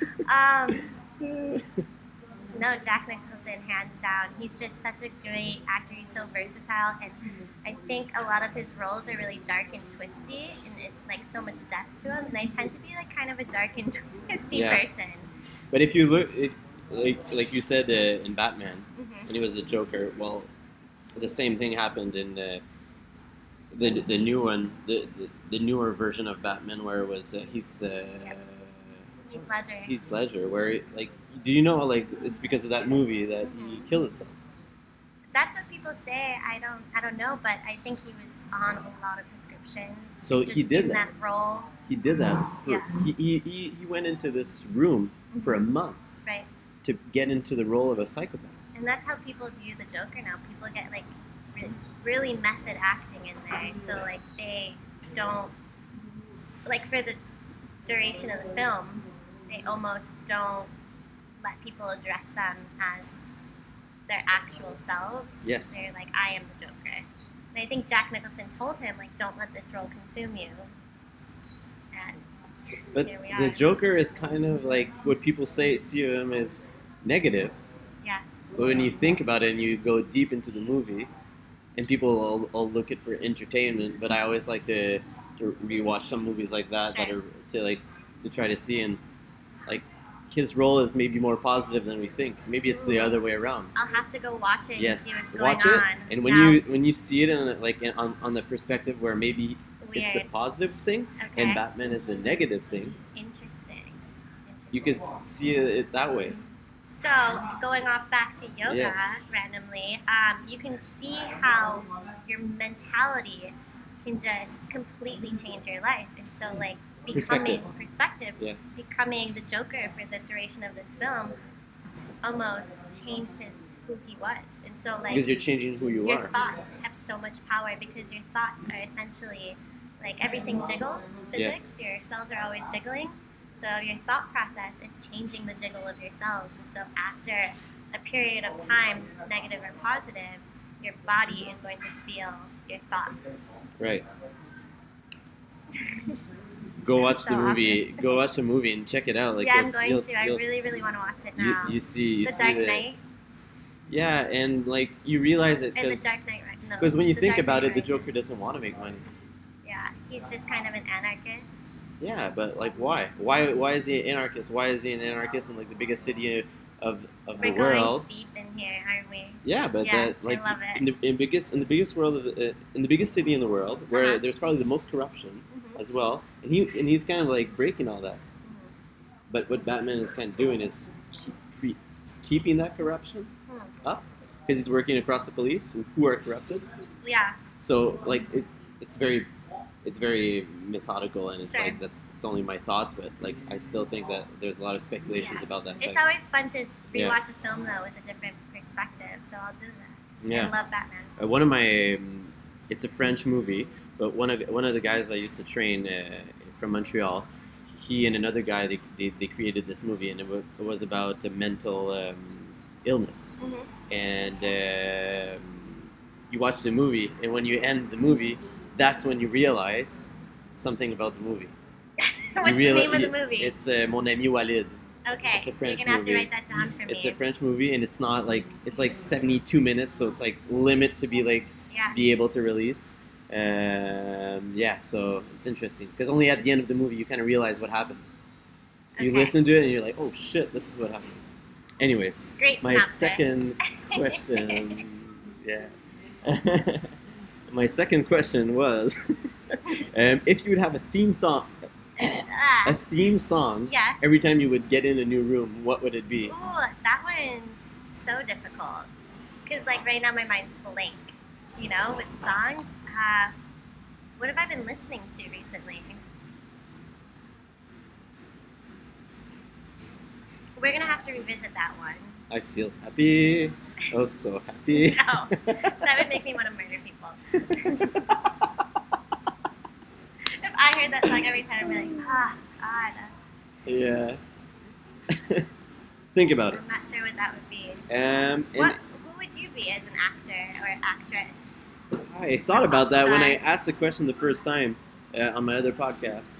No, Jack Nicholson, hands down. He's just such a great actor. He's so versatile, and I think a lot of his roles are really dark and twisty, and like so much depth to him. And I tend to be like kind of a dark and twisty person. But if you look, like you said in Batman, Mm-hmm. when he was the Joker, well, the same thing happened in the new one, the newer version of Batman, where it was Heath Ledger. Heath Ledger, where like, do you know, like, it's because of that movie that he killed himself? That's what people say. I don't know, but I think he was on a lot of prescriptions. So just he did in that. role. He did that. Yeah. He went into this room for a month Right. to get into the role of a psychopath. And that's how people view the Joker now. People get like really method acting in there. So like they don't, like for the duration of the film, they almost don't let people address them as their actual selves. Yes. They're like, I am the Joker. And I think Jack Nicholson told him, like, don't let this role consume you. And But here we are. the Joker is kind of like what people see of him as negative. Yeah. But when you think about it and you go deep into the movie, and people all look at for entertainment, but I always like to rewatch some movies like that that are to try to see, and like his role is maybe more positive than we think. Maybe it's the other way around. I'll have to go watch it and see what's going watch it, on. and Now, when you see it on the perspective where maybe it's the weird. positive thing Okay. and Batman is the negative thing, Interesting. you could see it that way. So, going off back to yoga randomly, you can see how your mentality can just completely change your life. And so, like, becoming perspective, Yes. becoming the Joker for the duration of this film almost changed him, who he was. And so, like, Because you're changing who you your are. thoughts have so much power because your thoughts are essentially like everything jiggles in physics. Your cells are always jiggling. So your thought process is changing the jiggle of your cells. And so after a period of time, negative or positive, your body is going to feel your thoughts. Right. Go watch So the movie. Go watch the movie and check it out. Like, yeah, I'm going to. I really, really want to watch it now. You see The Dark Knight Yeah, and like you realize it and The Dark Knight. No, because when you The think Dark about Knight it, the Rises. Joker doesn't want to make money. Yeah, he's just kind of an anarchist. Yeah, but like why? Why is he an anarchist? Why is he an anarchist in like the biggest city of We're the going world? deep in here, aren't we? Yeah, but Yeah, that like I love it. in the biggest world of in the biggest city in the world where Uh-huh. there's probably the most corruption Mhm. as well, and he's kind of like breaking all that. Mhm. But what Batman is kind of doing is keeping that corruption Hmm. up because he's working across the police who are corrupted. Yeah, So like it's very methodical, and it's Sure. like it's only my thoughts, but like I still think that there's a lot of speculations Yeah. about that. it's Like, always fun to Yeah. rewatch a film though with a different perspective. So I'll do that. yeah. I love Batman. One of my it's a French movie, but one of the guys I used to train from Montreal, he and another guy they created this movie, and it was about a mental illness. Mm-hmm. And you watch the movie, and when you end the movie, that's when you realize something about the movie. What's the name of the movie? It's Mon Ami Walid. Okay, it's a French you're gonna have to movie. write that down for me. It's a French movie, and it's not like it's like 72 minutes, so it's like limit to be like Yeah. be able to release. Yeah, so it's interesting because only at the end of the movie you kind of realize what happened. You Okay. listen to it and you're like, oh shit, this is what happened. Anyways, Great my synopsis. second question, yeah. My second question was, if you would have a Ah, theme song yeah. every time you would get in a new room, what would it be? Ooh, that one's so difficult. Because, like, right now my mind's blank, you know, with songs. What have I been listening to recently? We're gonna have to revisit that one. I feel happy. Oh, so happy. No, that would make me want to murder people. If I heard that song every time, I'd be like, God. Yeah. Think about it. I'm not sure what that would be. And Who would you be as an actor or actress? I thought about that when I Sorry. asked the question the first time on my other podcast.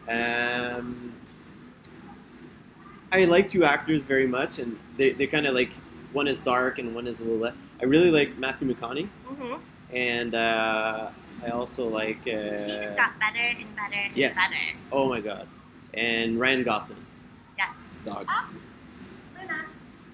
I like two actors very much, and they're kind of like, one is dark and one is a little less. I really like Matthew McConaughey, Mm-hmm. and I also like. He just got better and better and Yes. better. Oh my god. And Ryan Gosling. Yeah. Dog. Oh, Luna.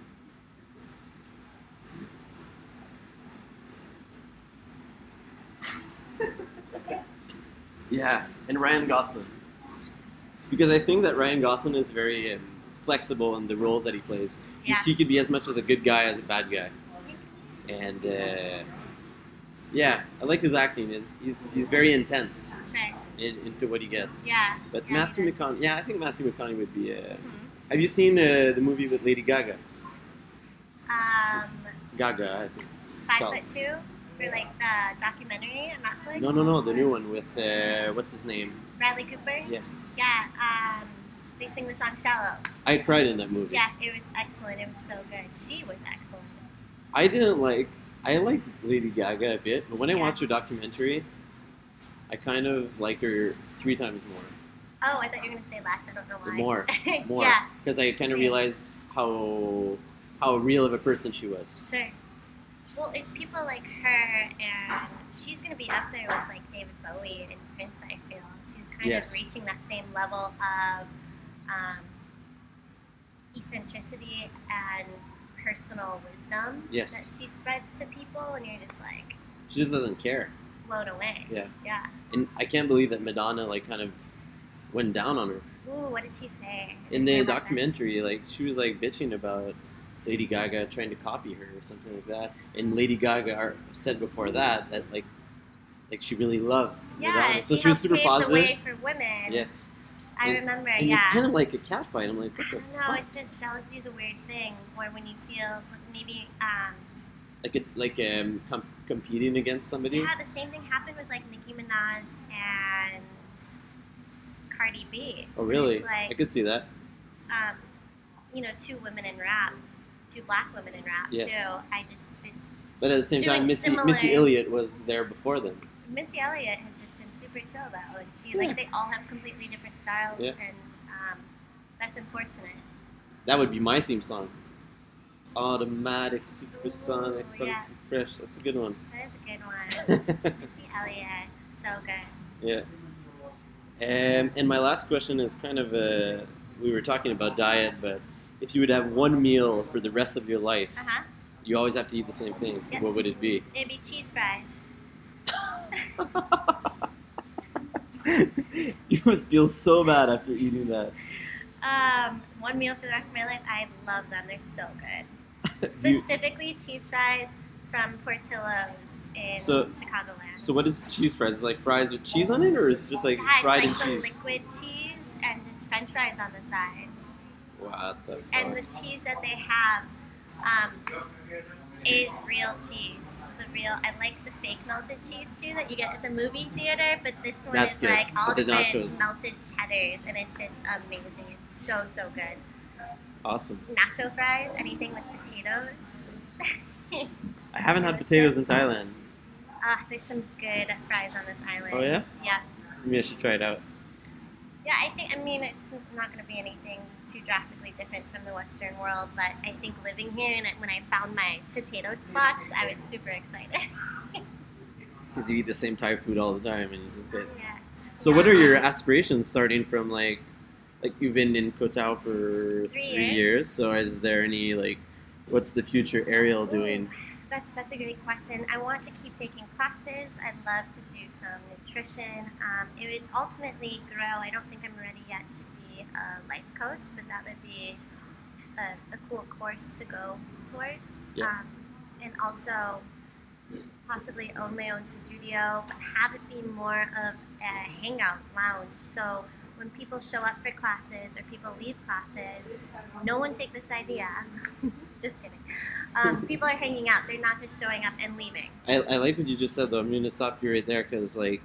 Yeah, and Ryan Gosling. Because I think that Ryan Gosling is very flexible in the roles that he plays. Yeah. He could be as much as a good guy as a bad guy. And yeah, I like his acting. He's very intense Sure. into what he gets. Yeah. But yeah, Matthew he does. McConaughey, yeah, I think Matthew McConaughey would be. Mhm. Have you seen the movie with Lady Gaga? Um, Gaga, I think. It's 5'2", or like the documentary on Netflix. No, the new one with what's his name? Bradley Cooper. Yes, Yeah. They sing the song "Shallow." I cried in that movie. Yeah, it was excellent. It was so good. She was excellent. I liked Lady Gaga a bit, but when I Yeah. watched her documentary, I kind of like her 3 times more. Oh, I thought you were gonna say less. I don't know why. More, Yeah. because I kind of Same. realized how real of a person she was. Sure. Well, it's people like her, and she's going to be up there with like David Bowie and Prince. I feel she's kind Yes. of reaching that same level of eccentricity and personal wisdom Yes. that she spreads to people, and you're just like She just doesn't care. blown away. Yeah. Yeah. And I can't believe that Madonna like kind of went down on her Ooh, what did she say? I in didn't the hear about this. documentary. Like she was like bitching about Lady Gaga trying to copy her or something like that. And Lady Gaga said before that like she really loved Yeah, Madonna. So she she was helped super pave positive. the way for women. Yes. I And- remember. And yeah. it's kind of like a cat fight. I'm like, what the No, fuck? it's just jealousy is a weird thing. Where when you feel maybe, Like it's like competing against somebody. yeah, the same thing happened with like Nicki Minaj and Cardi B. Oh really? It's like, I could see that. two women in rap, two black women in rap Yes. too. it's But at the same doing time, Missy similar- Elliott was there before them. Missy Elliott has just been super chill though, and she Yeah. like they all have completely different styles, Yeah. and that's unfortunate. That would be my theme song. Automatic, supersonic, Ooh, funky, yeah. fresh. That's a good one. That is a good one. Missy Elliott, so good. Yeah. And my last question is kind of we were talking about diet, but if you would have one meal for the rest of your life, Uh huh. you always have to eat the same thing. Yep. What would it be? It'd be cheese fries. You must feel so bad after eating that. One meal for the rest of my life. I love them. They're so good. Do you- Specifically, cheese fries from Portillo's in So- Chicagoland. so what is cheese fries? Is it like fries with cheese on it, or it's just like Yeah, fried it's like and the cheese? liquid cheese and just French fries on the side. What the fuck? And the cheese that they have is real cheese. I like the fake melted cheese too that you get at the movie theater, but this one That's is good. like all With the different nachos. melted cheddars, and it's just amazing. It's so good. Awesome. Nacho fries, anything with potatoes. I haven't had potatoes in Thailand. There's some good fries on this island. Oh yeah? Yeah. Maybe I should try it out. Yeah, I mean, it's not going to be anything too drastically different from the Western world, but I think living here and when I found my potato spots, I was super excited. Because you eat the same Thai food all the time and you just get... Yeah. So what are your aspirations starting from like you've been in Koh Tao for 3 3 years. years, so is there any what's the future Ariel doing? That's such a great question. I want to keep taking classes. I'd love to do some nutrition. It would ultimately grow. I don't think I'm ready yet to be a life coach, but that would be a cool course to go towards. Yeah. And also possibly own my own studio, but have it be more of a hangout lounge. So when people show up for classes or people leave classes, no one take this idea. Just kidding. People are hanging out. They're not just showing up and leaving. I like what you just said though. I'm gonna stop you right there because like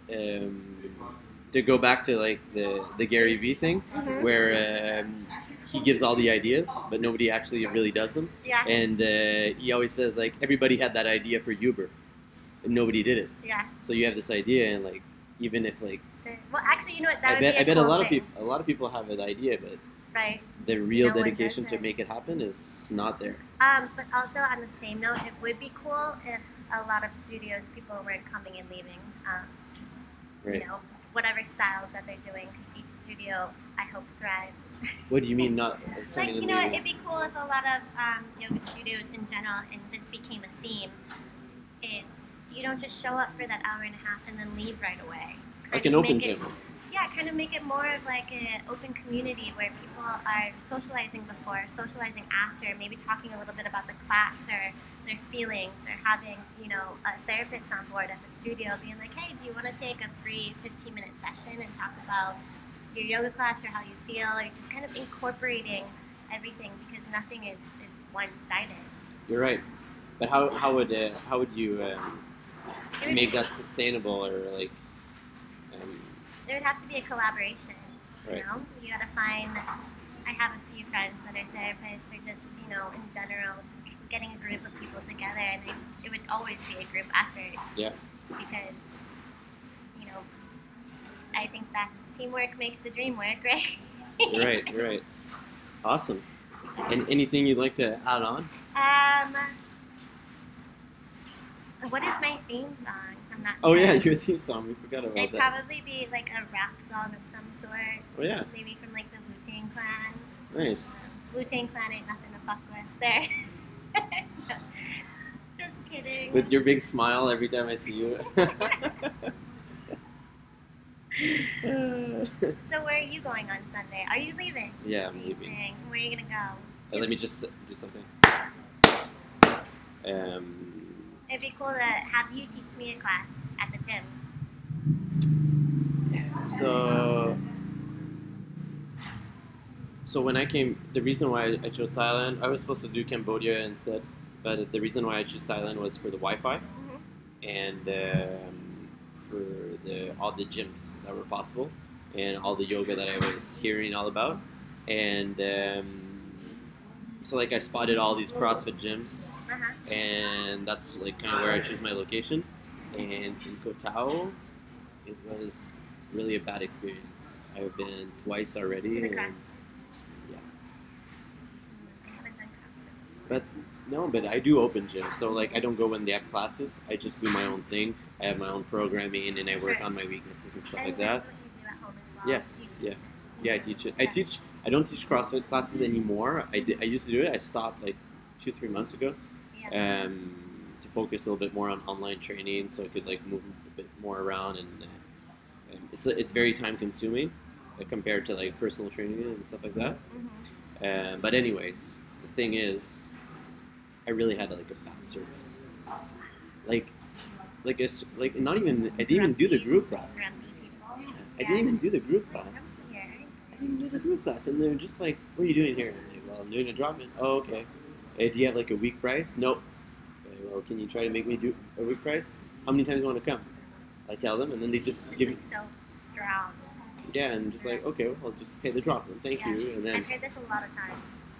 to go back to like the Gary Vee thing Mhm. where he gives all the ideas but nobody actually really does them, Yeah. and he always says like everybody had that idea for Uber and nobody did it. Yeah. So you have this idea and like even if like Sure. Well, actually, you know what? That I would bet be I bet a cool lot of thing, people have an idea but right? the real No one dedication does to it. make it happen is not there. But also on the same note, it would be cool if a lot of studios people weren't coming and leaving. Right. You know, whatever styles that they're doing, because each studio, I hope, thrives. What do you mean not Like, coming you and know what? leaving? It'd be cool if a lot of yoga studios in general, and this became a theme, is you don't just show up for that hour and a half and then leave right away. Like Kind an of open make it- gym. Yeah, kind of make it more of like an open community where people are socializing before, socializing after, maybe talking a little bit about the class or their feelings, or having, you know, a therapist on board at the studio being like, hey, do you want to take a free 15-minute session and talk about your yoga class or how you feel, or just kind of incorporating everything, because nothing is one-sided. You're right. But how would you It would, make that sustainable or like there would have to be a collaboration, you Right. know? You gotta find, I have a few friends that are therapists, or just, you know, in general, just getting a group of people together, and it would always be a group effort. Yeah. Because, you know, I think that's teamwork makes the dream work, right? You're right. Awesome. And anything you'd like to add on? What is my theme song? I'm not Oh sure. yeah, your theme song. We forgot about It'd that. probably be like a rap song of some sort. Oh yeah, Maybe from like the Wu-Tang Clan. nice. Wu-Tang Clan ain't nothing to fuck with there. Just kidding. With your big smile every time I see you. So where are you going on Sunday? Are you leaving? Yeah, I'm leaving. Amazing. Where are you gonna go? Let me just do something. It'd be cool to have you teach me a class at the gym. So when I came, the reason why I chose Thailand, I was supposed to do Cambodia instead, but the reason why I chose Thailand was for the Wi-Fi and for all the gyms that were possible and all the yoga that I was hearing all about, and so like I spotted all these CrossFit gyms, Uh-huh. and that's like kind of where I choose my location. And in Koh Tao, it was really a bad experience. I've been twice already. To the and- CrossFit. yeah. I haven't done CrossFit. But no, but I do open gyms. So like I don't go when they have classes. I just do my own thing. I have my own programming and I work Sure. on my weaknesses and stuff And like this that. is what you do at home as well. Yes, You teach yeah. it. Yeah, I teach it. I don't teach CrossFit classes anymore. I used to do it. I stopped like 2-3 months ago. Yeah. To focus a little bit more on online training, so I could like move a bit more around, and it's very time consuming compared to like personal training and stuff like that. Mhm. But anyways, the thing is, I really had like a bad service. Like not even I didn't even do the group class. Grumpy people. I didn't even do the group class. Yeah. I didn't do the group class, and they're just like, "What are you doing here?" I'm like, "Well, I'm doing a drop-in." Oh, okay. Hey, do you have like a week price? Nope. Okay, well, can you try to make me do a week price? How many times do you want to come? I tell them, and then they just Just give me, like so strong. yeah, and just like, okay, well, I'll just pay the drop-in. Thank Yeah. you, and then I've heard this a lot of times.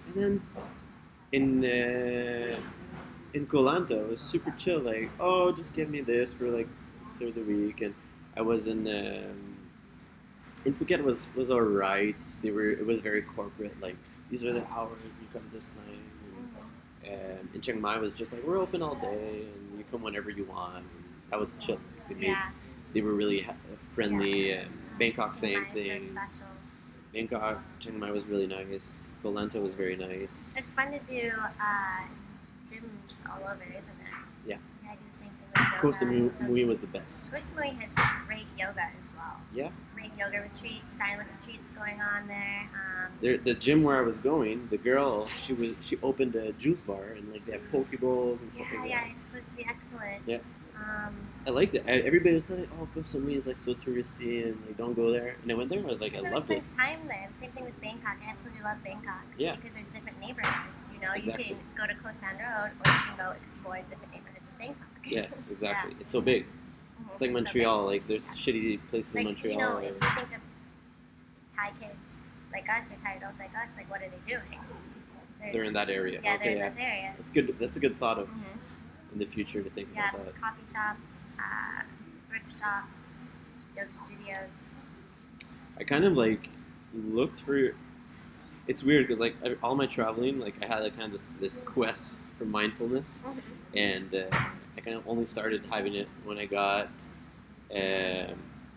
in Koh Lanta, it was super chill. Like, oh, just give me this for like through the week, and I was in Phuket was alright. It was very corporate. Like, these are the hours you come this time. And in Chiang Mai was just like, we're open all day and you come whenever you want. And that was chill. Yeah. They were really friendly. Bangkok, same Nice or thing. special. Bangkok, Chiang Mai was really nice. Koh Lanta was very nice. It's fun to do gyms all over, isn't it? Yeah. Yeah, I do the same thing with yoga. Koh Samui So was the best. Koh Samui has great yoga as well. Yeah. Great yoga retreats, silent retreats going on there. The gym where I was going, the girl, she opened a juice bar and like they have poke bowls and stuff Yeah, like yeah, that. it's supposed to be excellent. Yeah. I liked it. Everybody was telling, "Oh, Koh Samui is like so touristy and like don't go there." And I went there. And I was like, I Because loved it. everyone spends time there. The same thing with Bangkok. I absolutely love Bangkok. Yeah. Because there's different neighborhoods. You know, Exactly. you can go to Koh San Road or you can go explore different neighborhoods of Bangkok. Yes, exactly. Yeah. It's so big. Mhm. It's like So big. Montreal. Like there's shitty places in Like, Montreal. you know, if you think of Thai kids like us or Thai adults like us, like what are they doing? They're in that area. Yeah, they're Okay, in yeah. those areas. That's good. That's a good thought of Mhm. in the future to think Yeah, about that. coffee shops, thrift shops, yoga studios. I kind of like looked for. It's weird because like all my traveling, like I had like kind of this quest for mindfulness, and I kind of only started having it when I got um,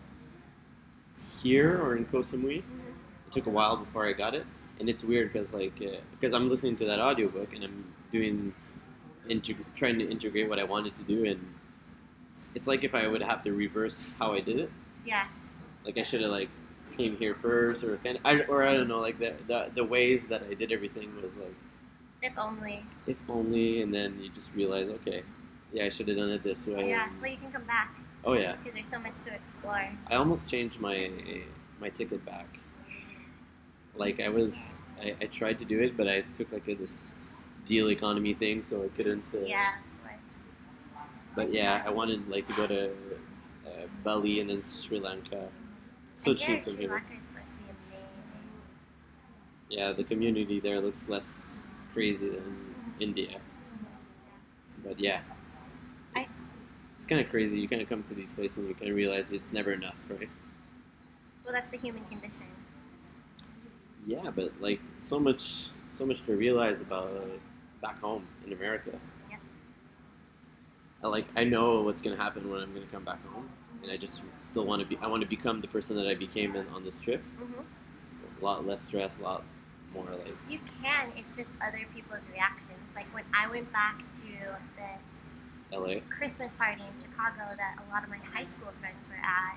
here or in Koh Samui. It took a while before I got it, and it's weird because like because I'm listening to that audiobook and I'm doing trying to integrate what I wanted to do, and it's like if I would have to reverse how I did it. Yeah, Like I should have like came here first, or I don't know, like the ways that I did everything was like if only. if only, and then you just realize, okay, yeah, I should have done it this way. Yeah, well, you can come back Oh yeah, because there's so much to explore. I almost changed my ticket back. Like I tried to do it, but I took like this deal economy thing, so I couldn't. Yeah, it was. But yeah, I wanted like to go to Bali and then Sri Lanka. So I hear cheap from Sri here. Lanka is supposed to be amazing. Yeah, the community there looks less crazy than India. But yeah, it's kind of crazy. You kind of come to these places and you kind of realize it's never enough, right? Well, that's the human condition. Yeah, but like so much to realize about back home in America. Yeah. I know what's gonna happen when I'm gonna come back home, and I just still want to be. I want to become the person that I became on this trip. Mm-hmm. A lot less stress, a lot more like. You can. It's just other people's reactions. Like when I went back to this LA. Christmas party in Chicago that a lot of my high school friends were at,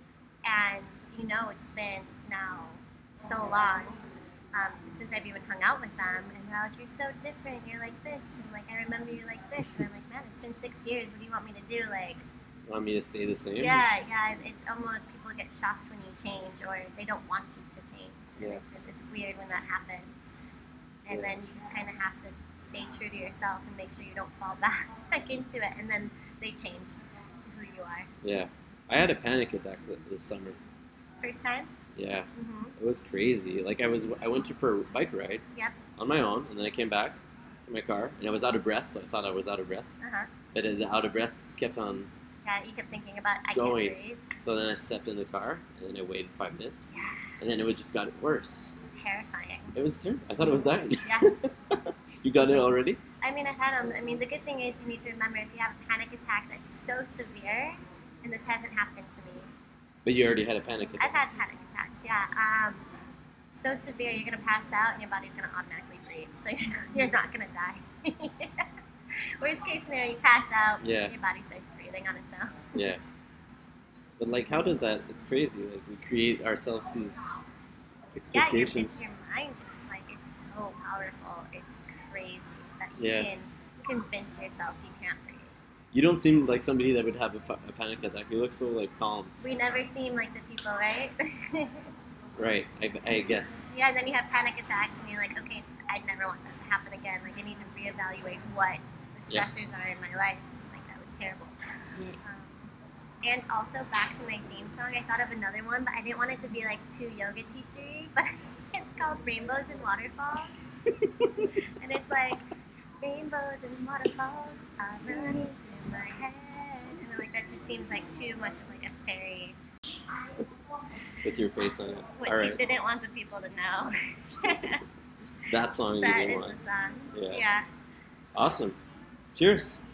and you know it's been now so long since I've even hung out with them, and they're like, "You're so different. You're like this, and like I remember you like this." And I'm like, "Man, it's been 6 years. What do you want me to do?" Like, Want me to stay the same? yeah. It's almost people get shocked when you change, or they don't want you to change. And Yeah. it's weird when that happens. And Yeah. then you just kind of have to stay true to yourself and make sure you don't fall back into it. And then they change to who you are. Yeah. I had a panic attack this summer. First time? Yeah, Mm-hmm. it was crazy. Like I went for a bike ride. Yep. On my own, and then I came back to my car, and I was out of breath, so I thought I was out of breath. Uh-huh. But the out of breath kept on. Yeah, you kept thinking about, I Going. can't breathe. So then I stepped in the car, and then I waited 5 minutes, Yeah, and then it just got worse. it's terrifying. It was terrible. I thought I was dying. Yeah. You got it already? I mean, I've had them. I mean, the good thing is you need to remember if you have a panic attack that's so severe, and this hasn't happened to me. But you already had a panic I've attack. had panic attacks, yeah. So severe, you're gonna pass out and your body's gonna automatically breathe, so you're not gonna die. Worst case scenario, you pass out, Yeah. your body starts breathing on its own. Yeah. But like, how does that? It's crazy. Like we create ourselves these Yeah, expectations. your mind just like is so powerful. It's crazy that you Yeah. can convince yourself you can't breathe. You don't seem like somebody that would have a panic attack. You look so like calm. We never seem like the people, right? Right. I guess. Yeah, and then you have panic attacks, and you're like, okay, I'd never want that to happen again. Like, I need to reevaluate what the Yeah. stressors are in my life. Like, that was terrible. And also, back to my theme song, I thought of another one, but I didn't want it to be like too yoga teachery. But it's called Rainbows and Waterfalls, and it's like rainbows and waterfalls are running through my head, and I'm like, that just seems like too much of like a fairy, With your face on it. which All you right. didn't want the people to know. That song you That didn't is want. the song. Yeah. Yeah. Awesome. Cheers.